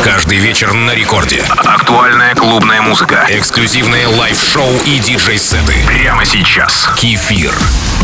Каждый вечер на рекорде. Актуальная клубная музыка, эксклюзивные лайв-шоу и диджей-сеты. Прямо сейчас. Кефир.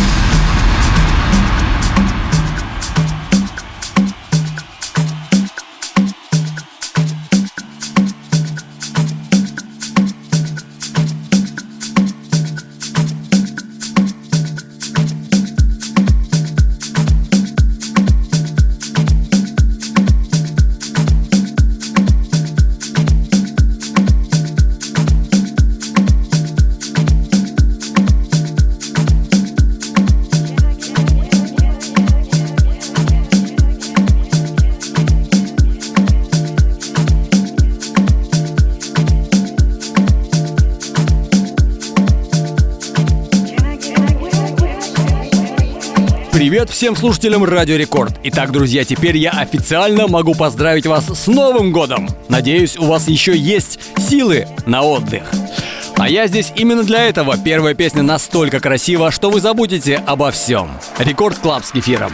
Привет всем слушателям Радио Рекорд. Итак, друзья, теперь я официально могу поздравить вас с Новым годом. Надеюсь, у вас еще есть силы на отдых. А я здесь именно для этого. Первая песня настолько красива, что вы забудете обо всем. Рекорд Клаб с Кефиром.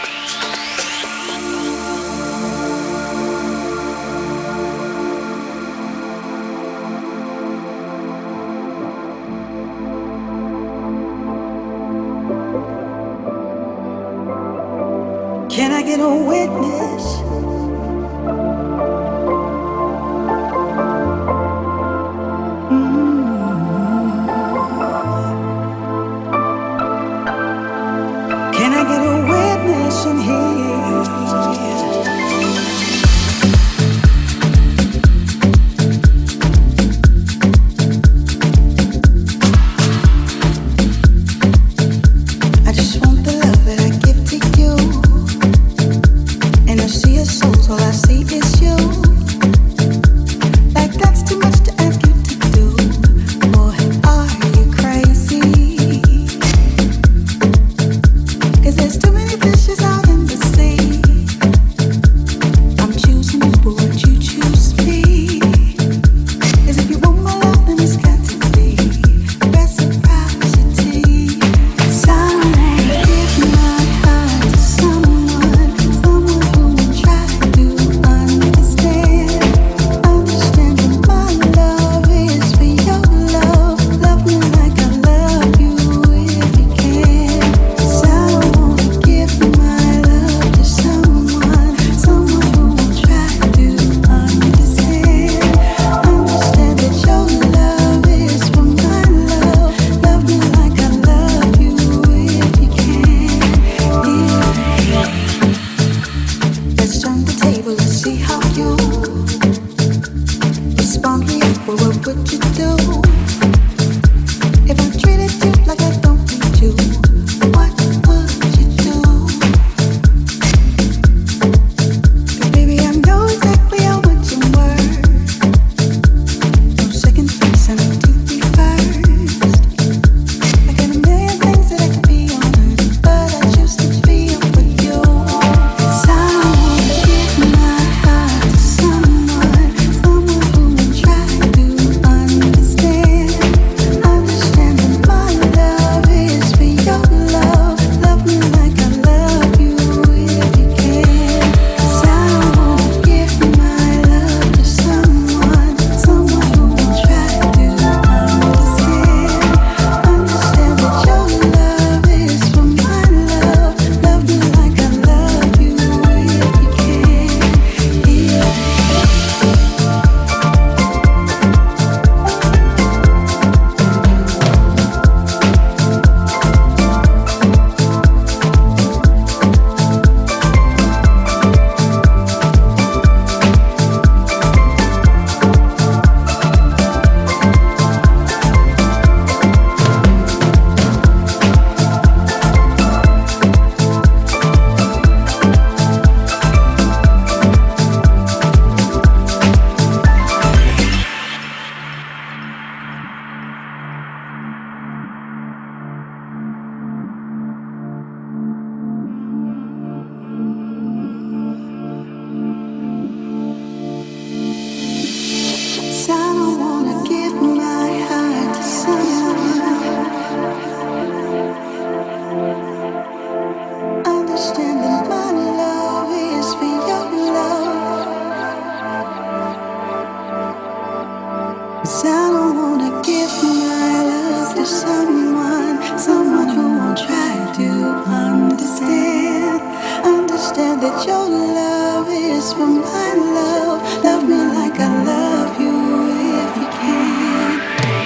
Can I get a witness? Can I get a witness in here? All I see is you. Like that's too much to ask you to do. Boy, are you crazy? 'Cause there's too many fishes out in the sea. I'm choosing you, but would you choose me? 'Cause if you want my love, then it's got to be reciprocity. Someday give my heart to someone who will try to understand. is for my love. Love me like I love you if you can.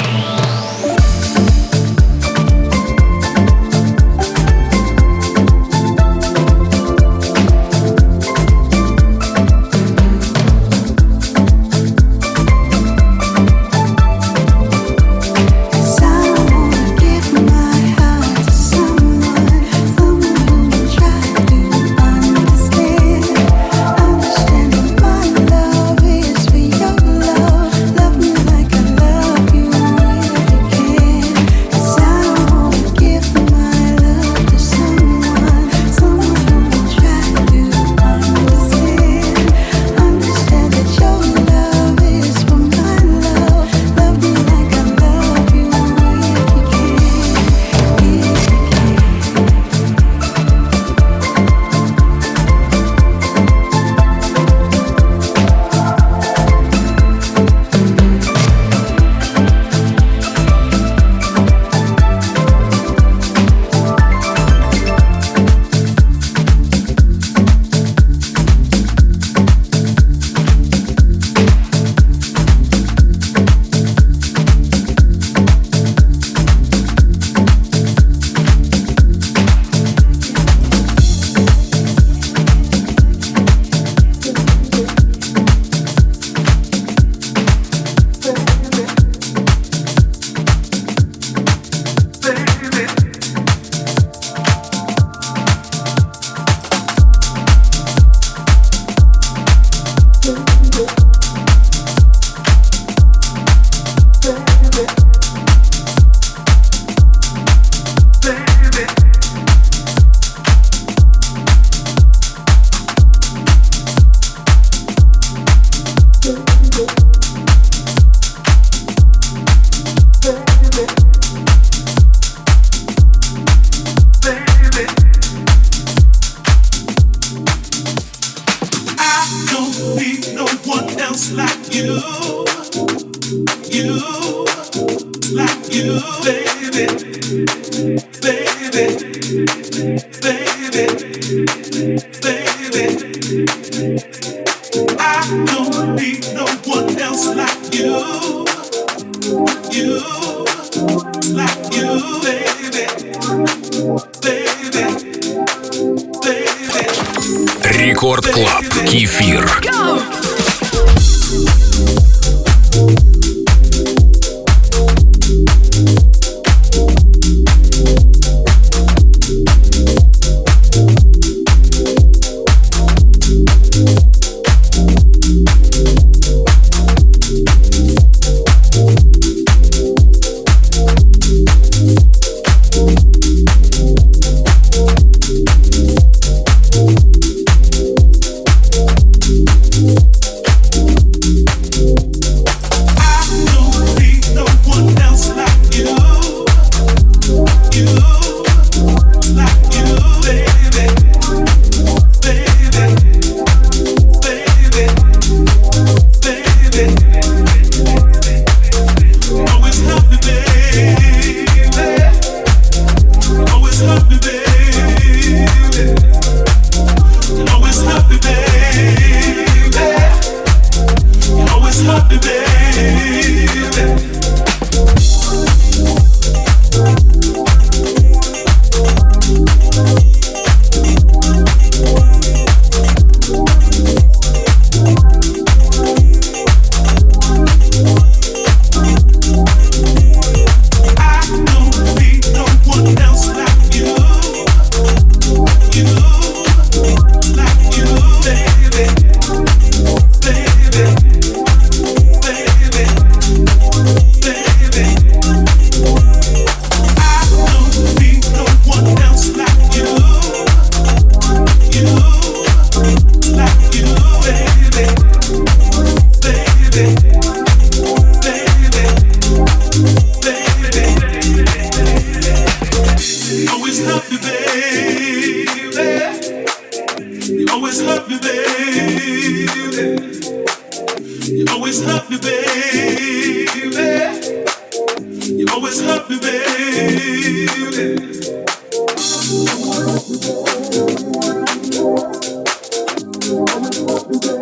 Рекорд Клаб. Кефир. baby.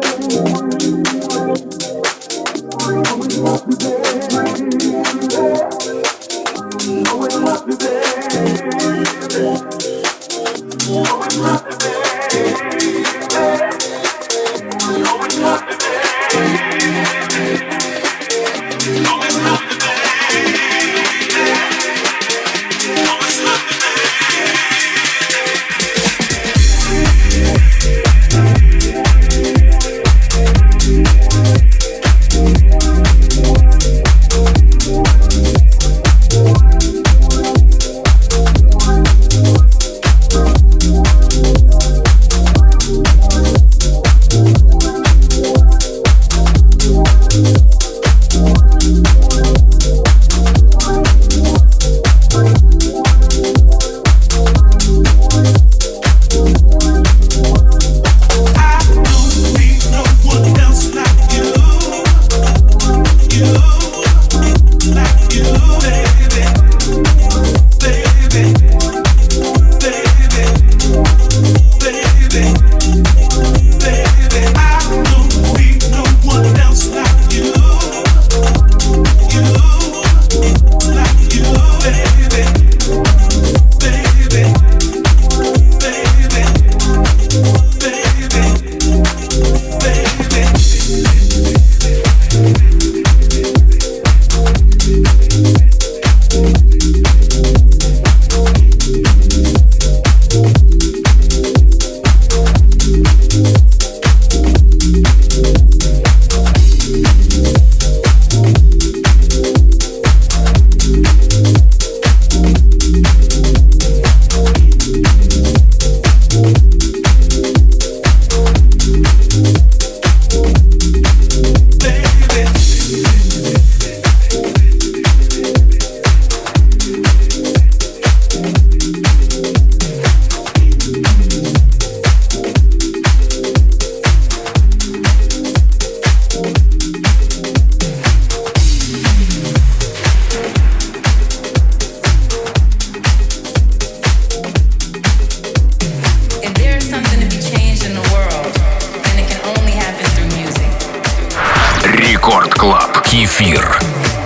Кефир.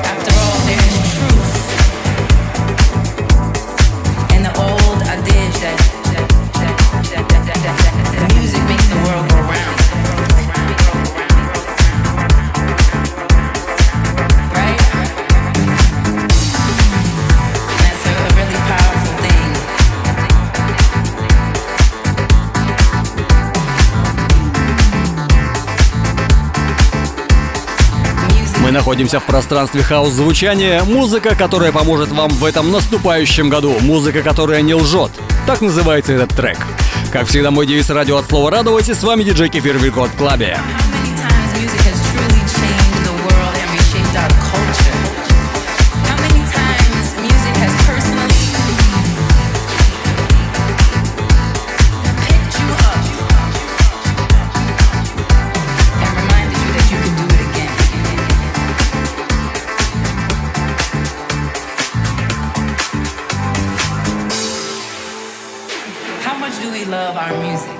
Мы находимся в пространстве хаус-звучания. Музыка, которая поможет вам в этом наступающем году. Музыка, которая не лжет. Так называется этот трек. Как всегда, мой девиз радио от слова радовать. И с вами диджей Кефир в Рекорд Клабе. Love our music.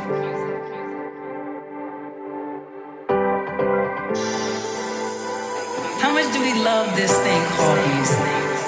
How much do we love this thing called music?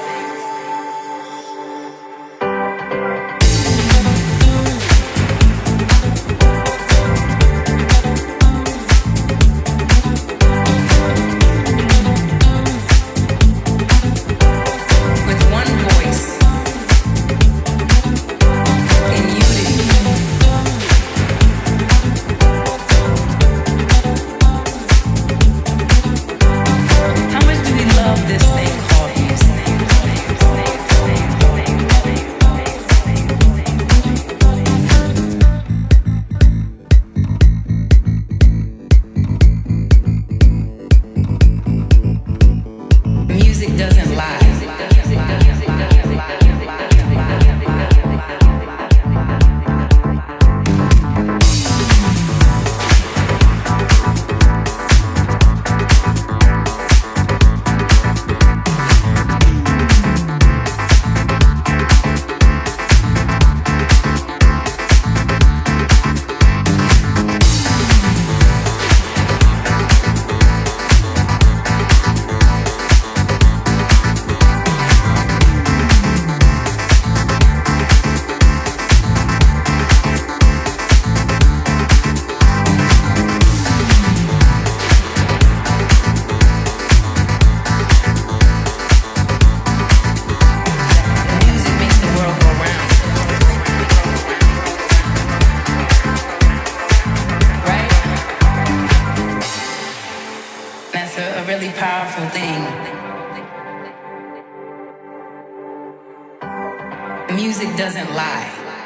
Music doesn't lie.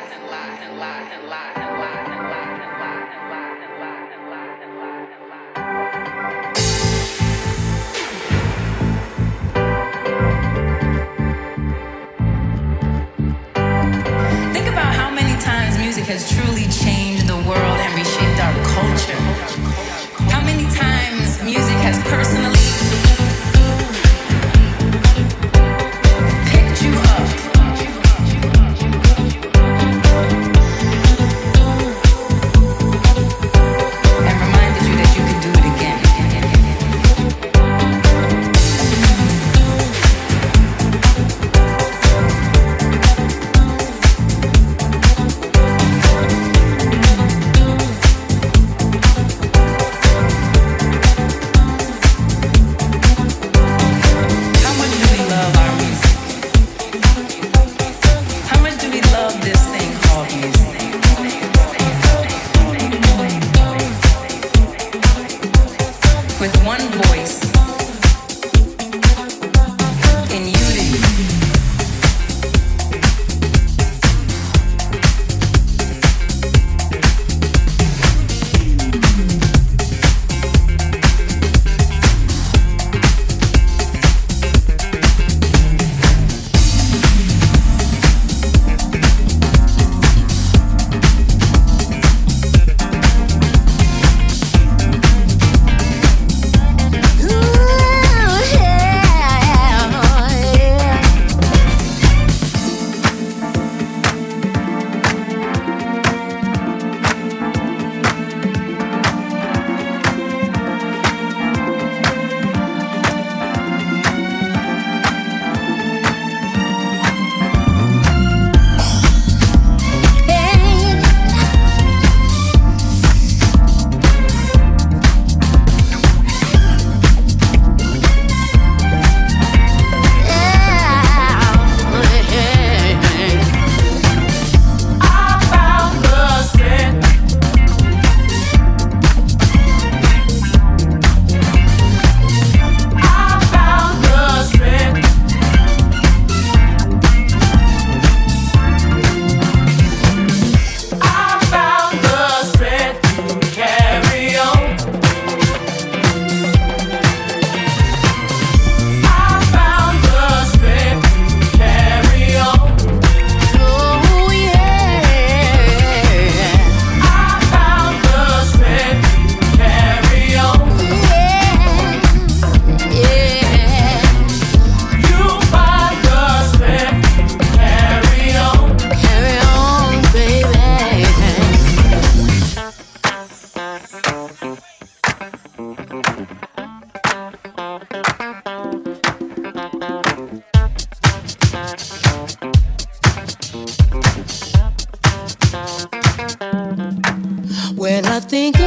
Think about how many times music has truly changed the world and reshaped our culture. How many times music has personally picked you up.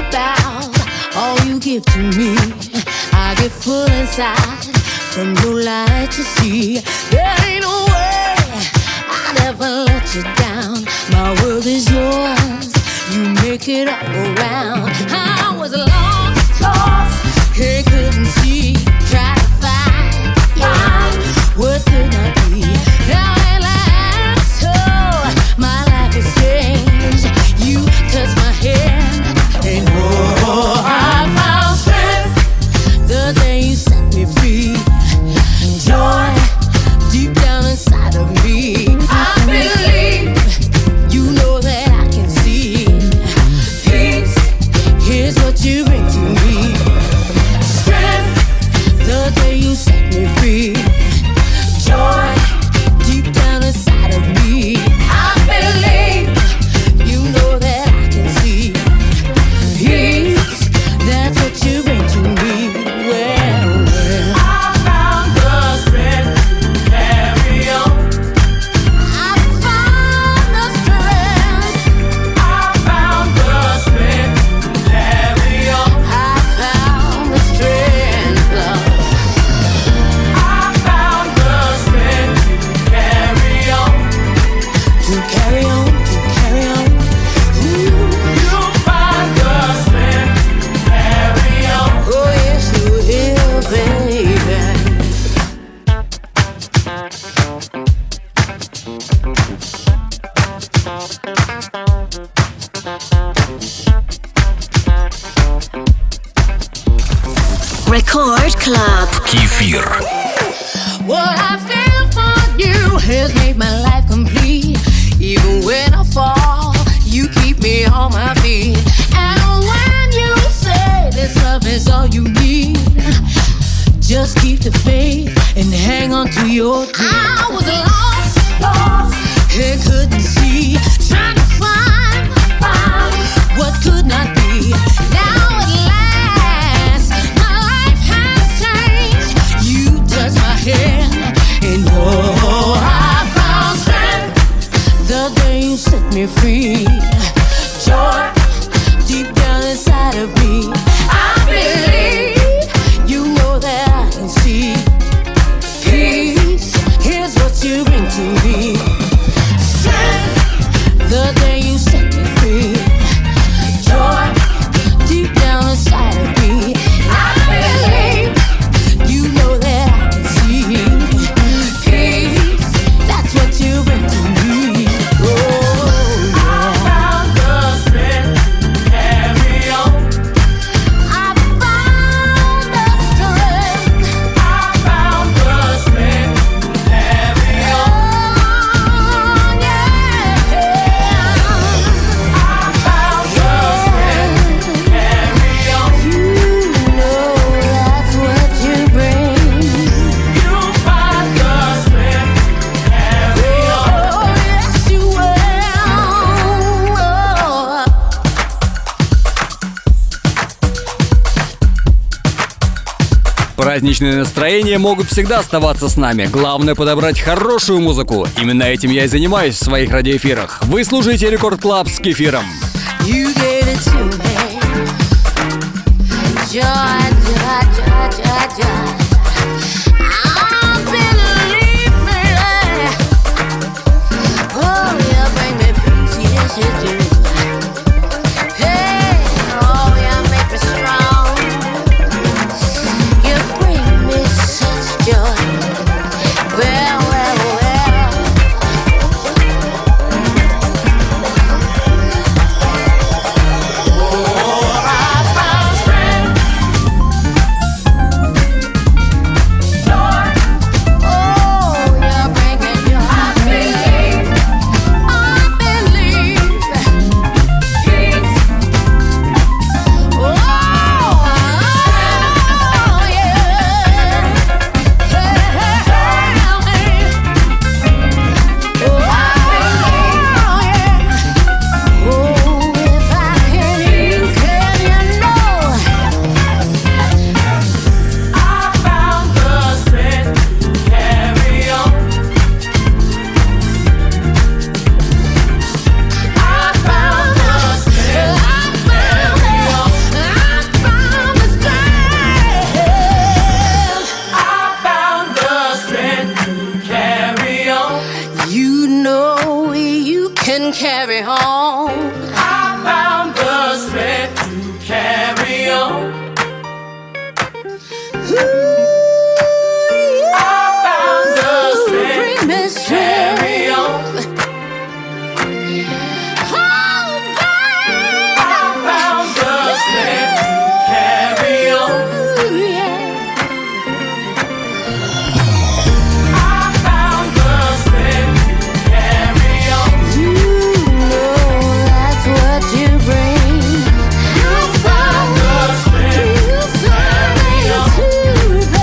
about all you give to me. I get full inside from your light to see. There ain't no way I'd ever let you down. My world is yours, you make it all go round. I was lost, he couldn't see. Try to find what could not be. Now at last, oh, my life has changed. You touch my hand, and oh, I found strength the day you set me free. Joy deep down inside of me. I believe, you know that I can see. Peace, here's what you bring to me. Strength the day you set me free. Joy deep down inside of me. I believe, you know that I can see. Peace, that's what you bring to me. Well, I found the strength to carry on. I found the strength. I found the strength to carry on. I found the strength, love. I found the strength to carry on. To carry on, to carry on. You find the strength to carry on. Oh yes, you will, baby. Record Club. Кефир. What I feel for you has made my life complete. Even when I fall, you keep me on my feet. And when you say this love is all you need, just keep the faith and hang on to your dream. I was lost, and couldn't see, trying to find what could not be. Now at last, my life has changed. You touch my hand, and oh, I found strength the day you set me free. Joy deep down inside of me. I believe, you know that I can see. Peace, here's what you bring to me. Strength the day you set me free. Joy deep down inside of me. I believe, you know that I can see. Peace, that's what you bring to me. Oh, I found the strength to carry on. I found the strength. I found the strength to carry on. Oh, yeah. I found the strength to carry on. You know that's what you bring. You find the strength to carry on. Oh, yes, you will. Праздничные настроения могут всегда оставаться с нами. Главное подобрать хорошую музыку. Именно этим я и занимаюсь в своих радиоэфирах. Вы слушаете Рекорд Клаб с Кефиром. You gave it to me. Joy, joy, joy, joy, joy. I believe me. Oh, you bring me peace, yes you do. Hey, oh, you make me strong. You bring me such joy. Well, well, well. I found strength You found the strength, carry on.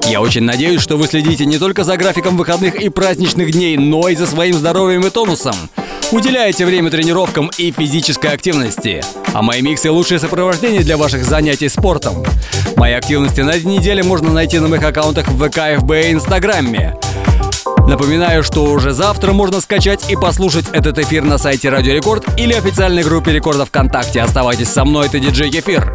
Я очень надеюсь, что вы следите не только за графиком выходных и праздничных дней, но и за своим здоровьем и тонусом. Уделяете время тренировкам и физической активности. А мои миксы — лучшее сопровождение для ваших занятий спортом. Мои активности на этой неделе можно найти на моих аккаунтах в ВК, ФБ и Инстаграме. Напоминаю, что уже завтра можно скачать и послушать этот эфир на сайте Радио Рекорд или официальной группе Рекорда ВКонтакте. Оставайтесь со мной, это диджей Кефир.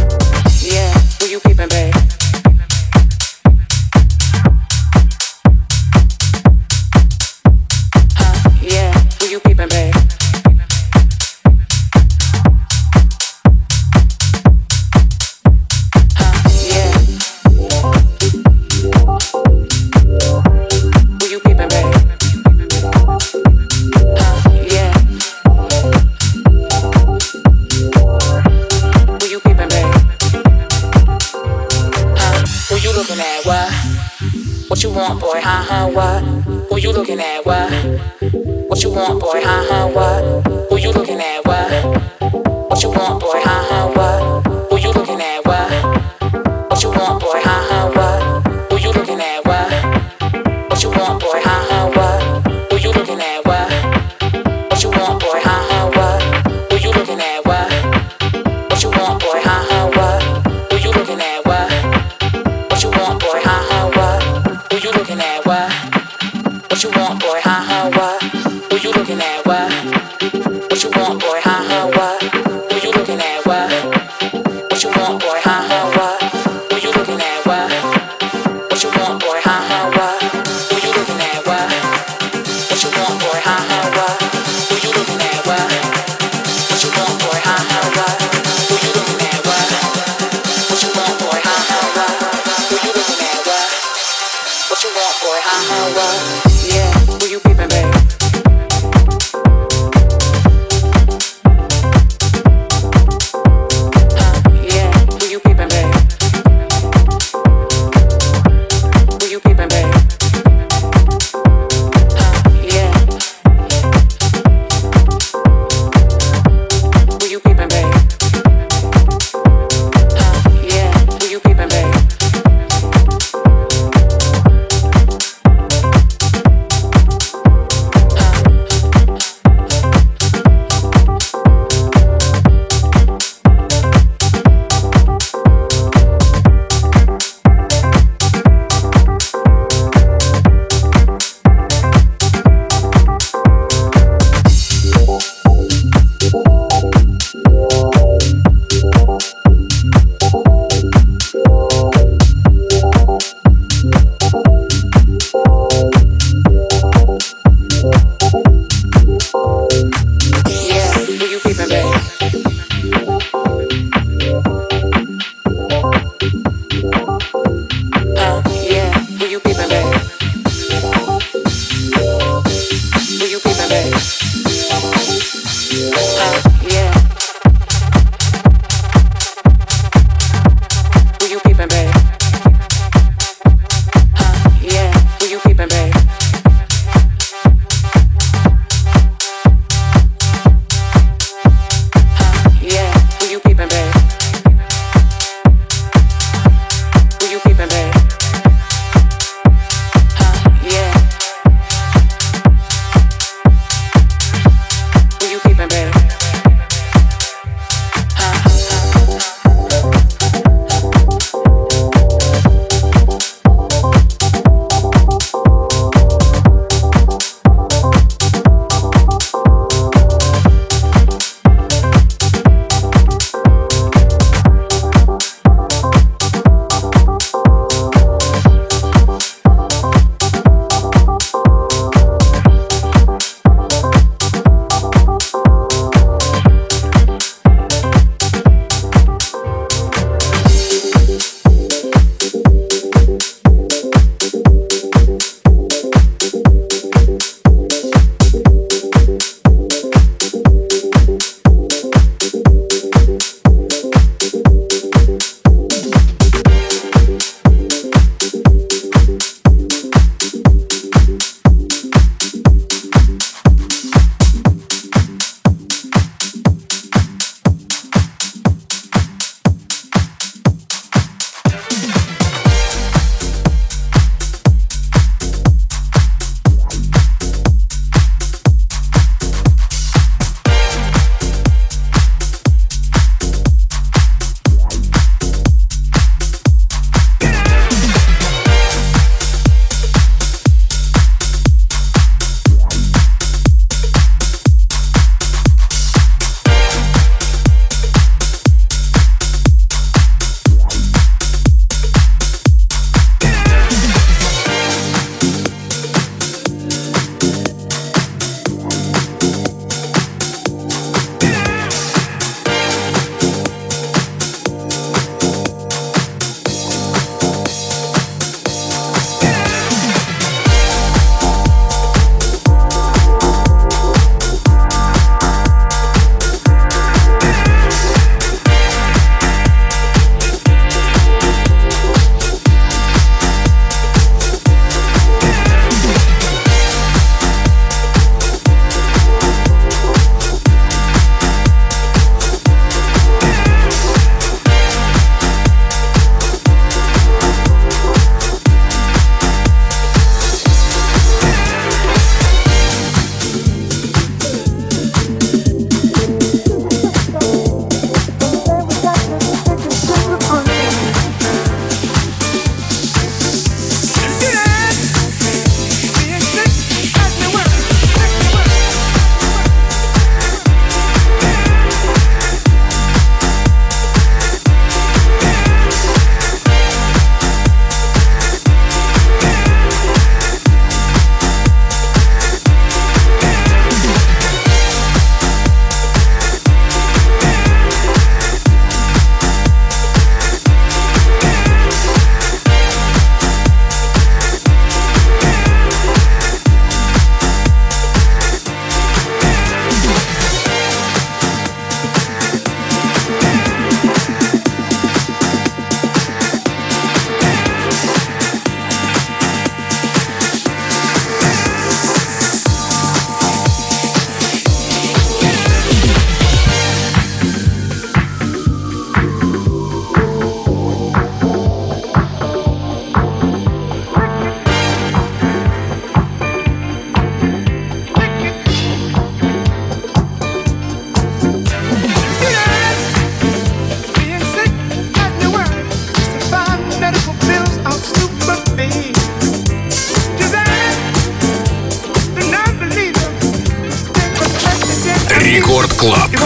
What you want, boy? What? Who you looking at? What? What you want, boy? What? Who you looking at? What? What you want, boy? What? Who you looking at? What? What you want, boy? What? Who you looking at? What? What you want, boy? What? Who you looking at? What? What you want, boy? What? Who you looking at? What? What you want, boy? What? Who you looking at? What? What you want, boy? What? Who you looking at? What? What you want, boy? What? Who you looking at? What? What you want, boy? What? Who you looking at? What? What you want, boy? What? Who you looking at? What? What you want, boy? What? Who you looking at? What? What you want, boy? What? Who you looking at? What? What you want, boy? What? Who you looking at? What? What you want, boy? What? Who you looking at? What? What you want, boy? What? Yeah, who you peeping, babe? Yeah, who you peeping, babe? Who you peeping, babe? Yeah. Who you peeping, babe? Yeah, who you peeping, babe?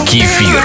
Кефир.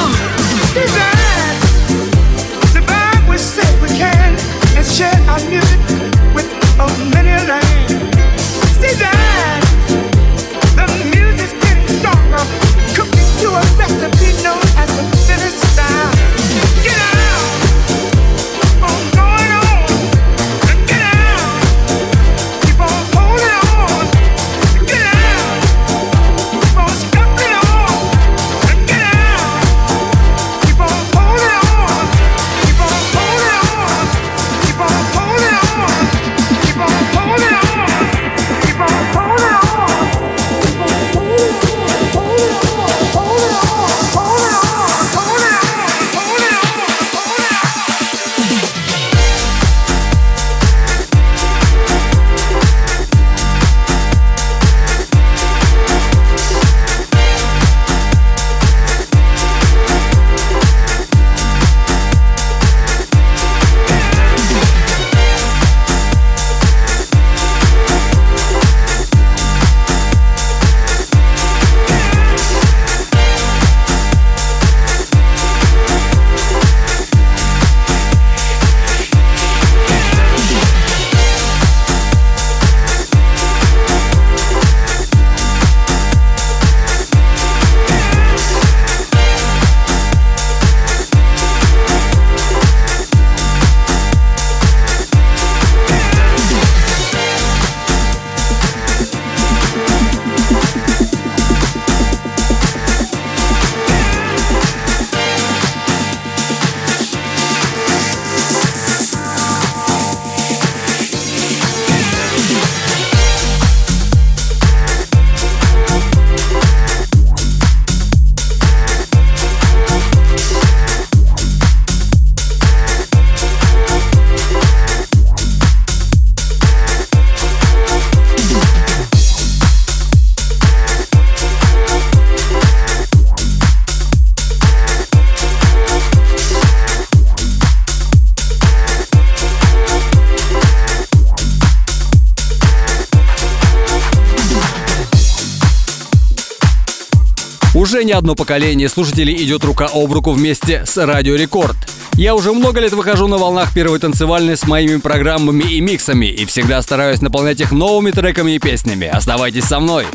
Уже не одно поколение слушателей идет рука об руку вместе с Радио Рекорд. Я уже много лет выхожу на волнах первой танцевальной с моими программами и миксами и всегда стараюсь наполнять их новыми треками и песнями. Оставайтесь со мной.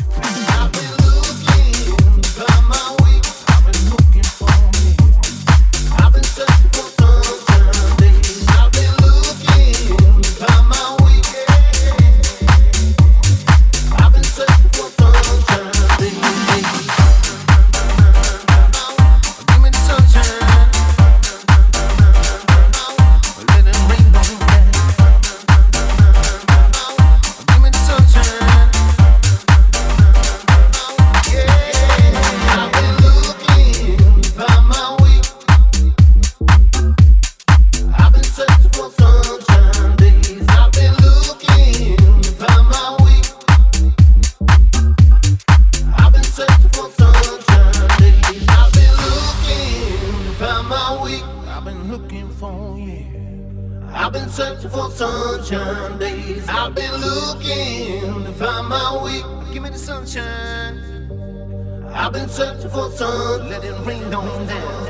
I've been searching for sun, let it rain on down.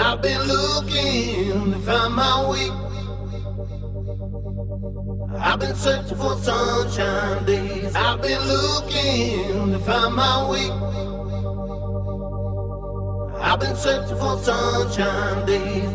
I've been looking to find my way. I've been searching for sunshine days. I've been looking to find my way. I've been searching for sunshine days.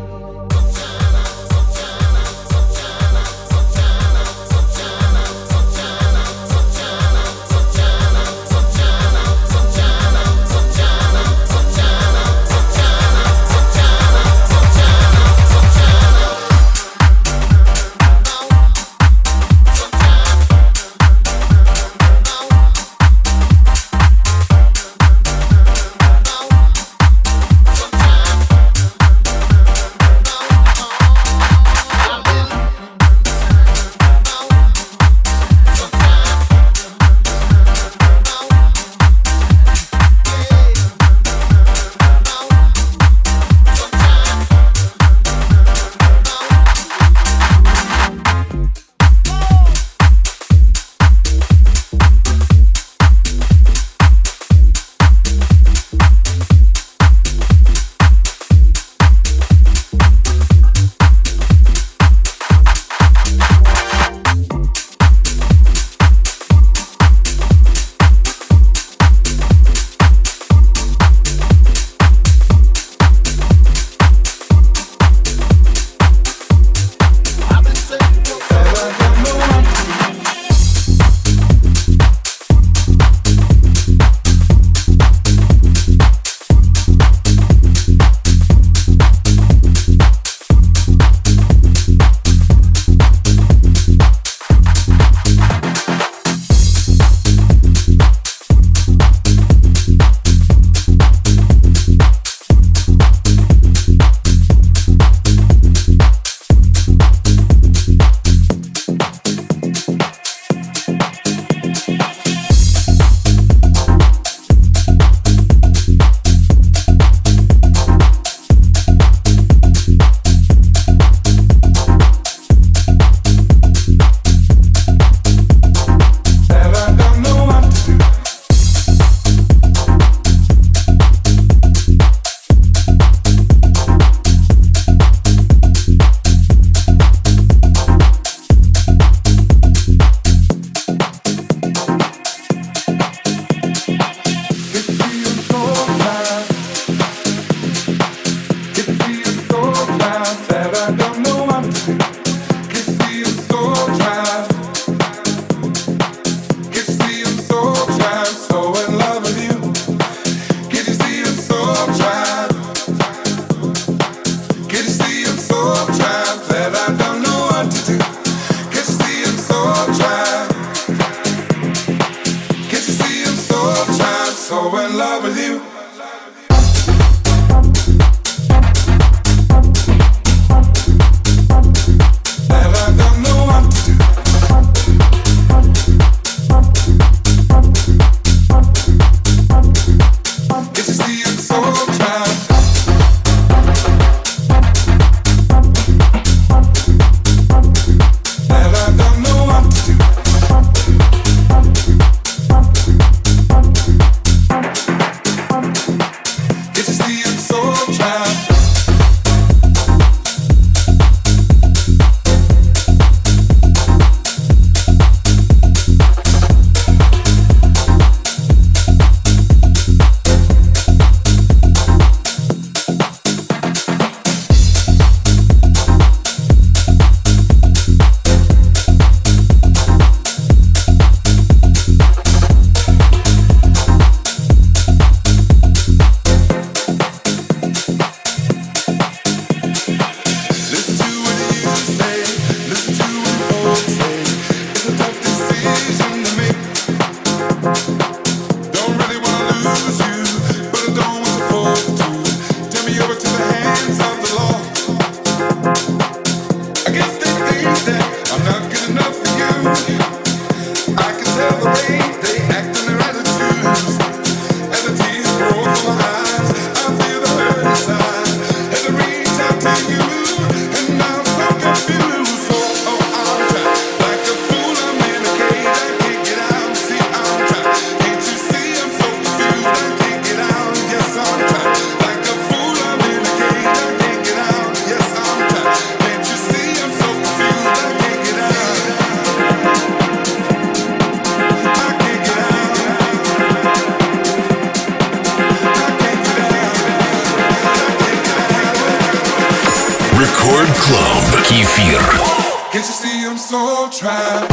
Record Club. Кефир. Can't you see I'm so trapped?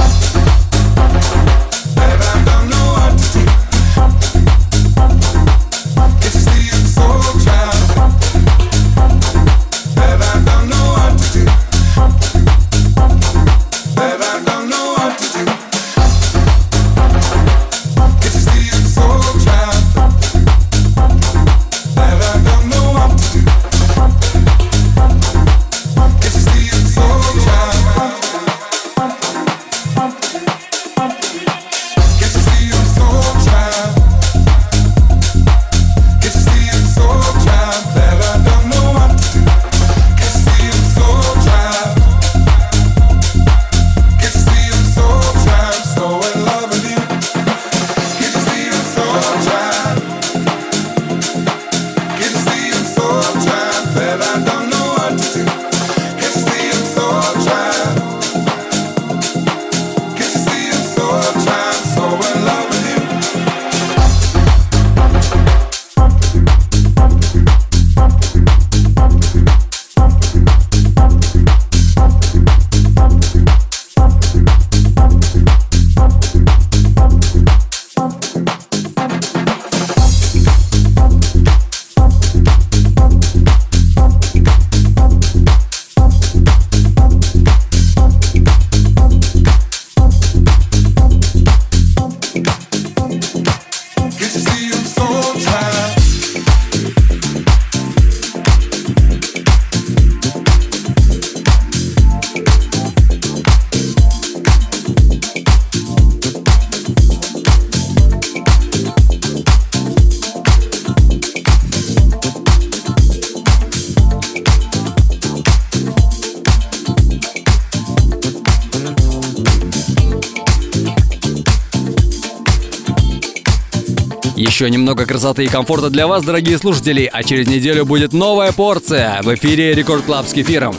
That I don't know what to do. Can't you see I'm so trapped? That I don't know what to do. That I don't know what to do. Can't you see I'm so trapped? That I don't know what to do. Can't you see I'm so trapped? Еще немного красоты и комфорта для вас, дорогие слушатели, а через неделю будет новая порция в эфире Рекорд Клаб с Кефиром.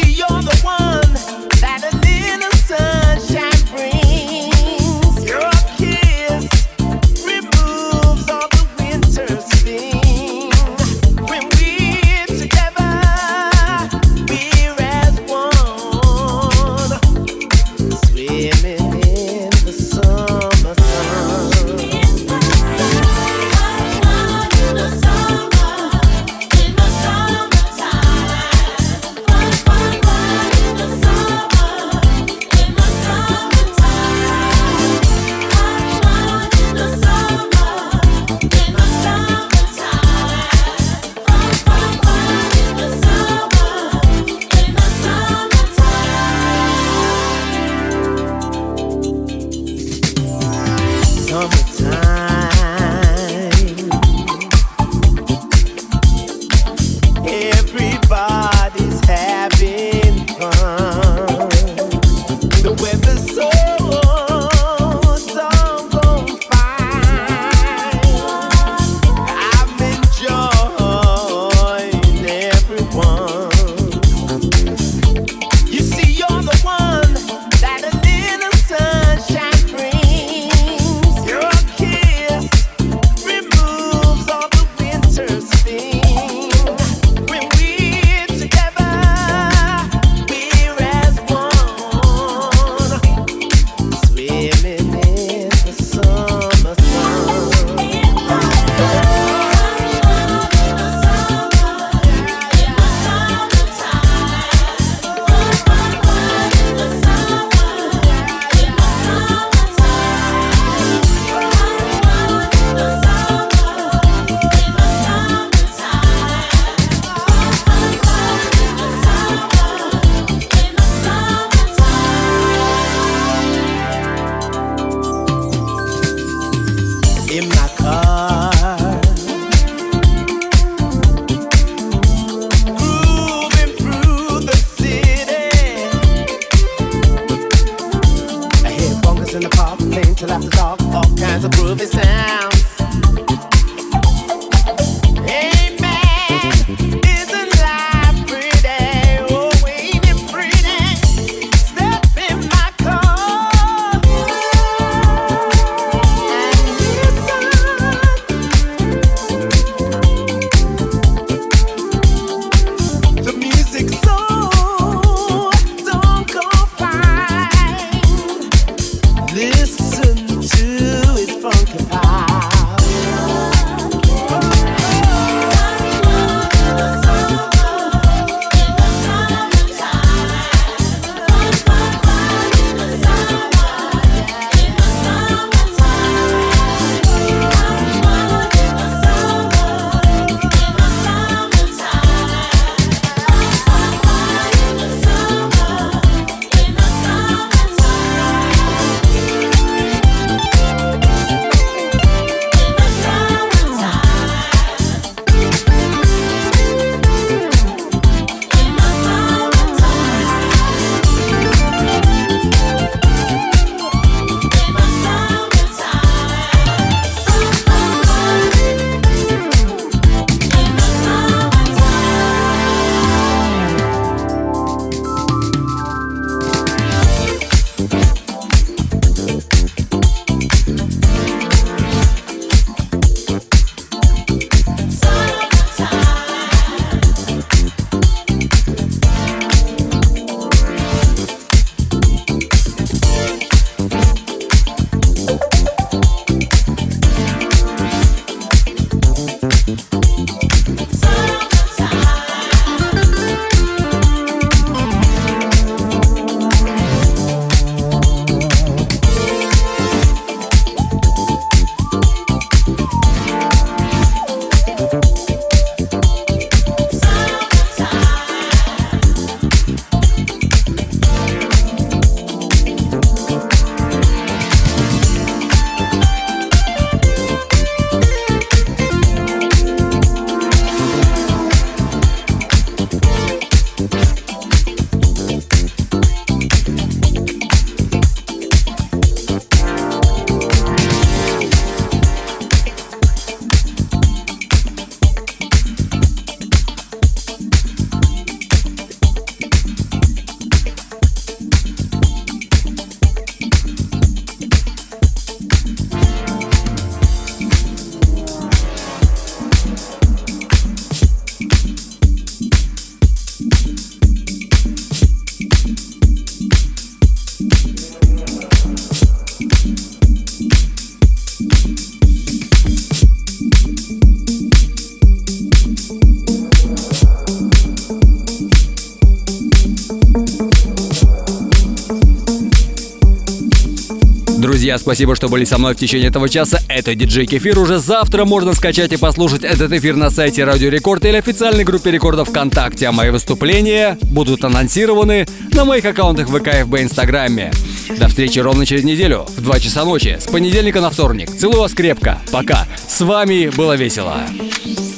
That a little sunshine brings. You're till after dark, all kinds of groovy sounds. Hey man, isn't life pretty? Oh, ain't it pretty? Step in my car and listen. The music's so don't go fine. Listen to its funky power. Друзья, спасибо, что были со мной в течение этого часа. Это диджей Кефир. Уже завтра можно скачать и послушать этот эфир на сайте Радио Рекорд или официальной группе Рекорда ВКонтакте. А мои выступления будут анонсированы на моих аккаунтах ВК, ФБ, Инстаграме. До встречи ровно через неделю в 2 часа ночи с понедельника на вторник. Целую вас крепко. Пока. С вами было весело.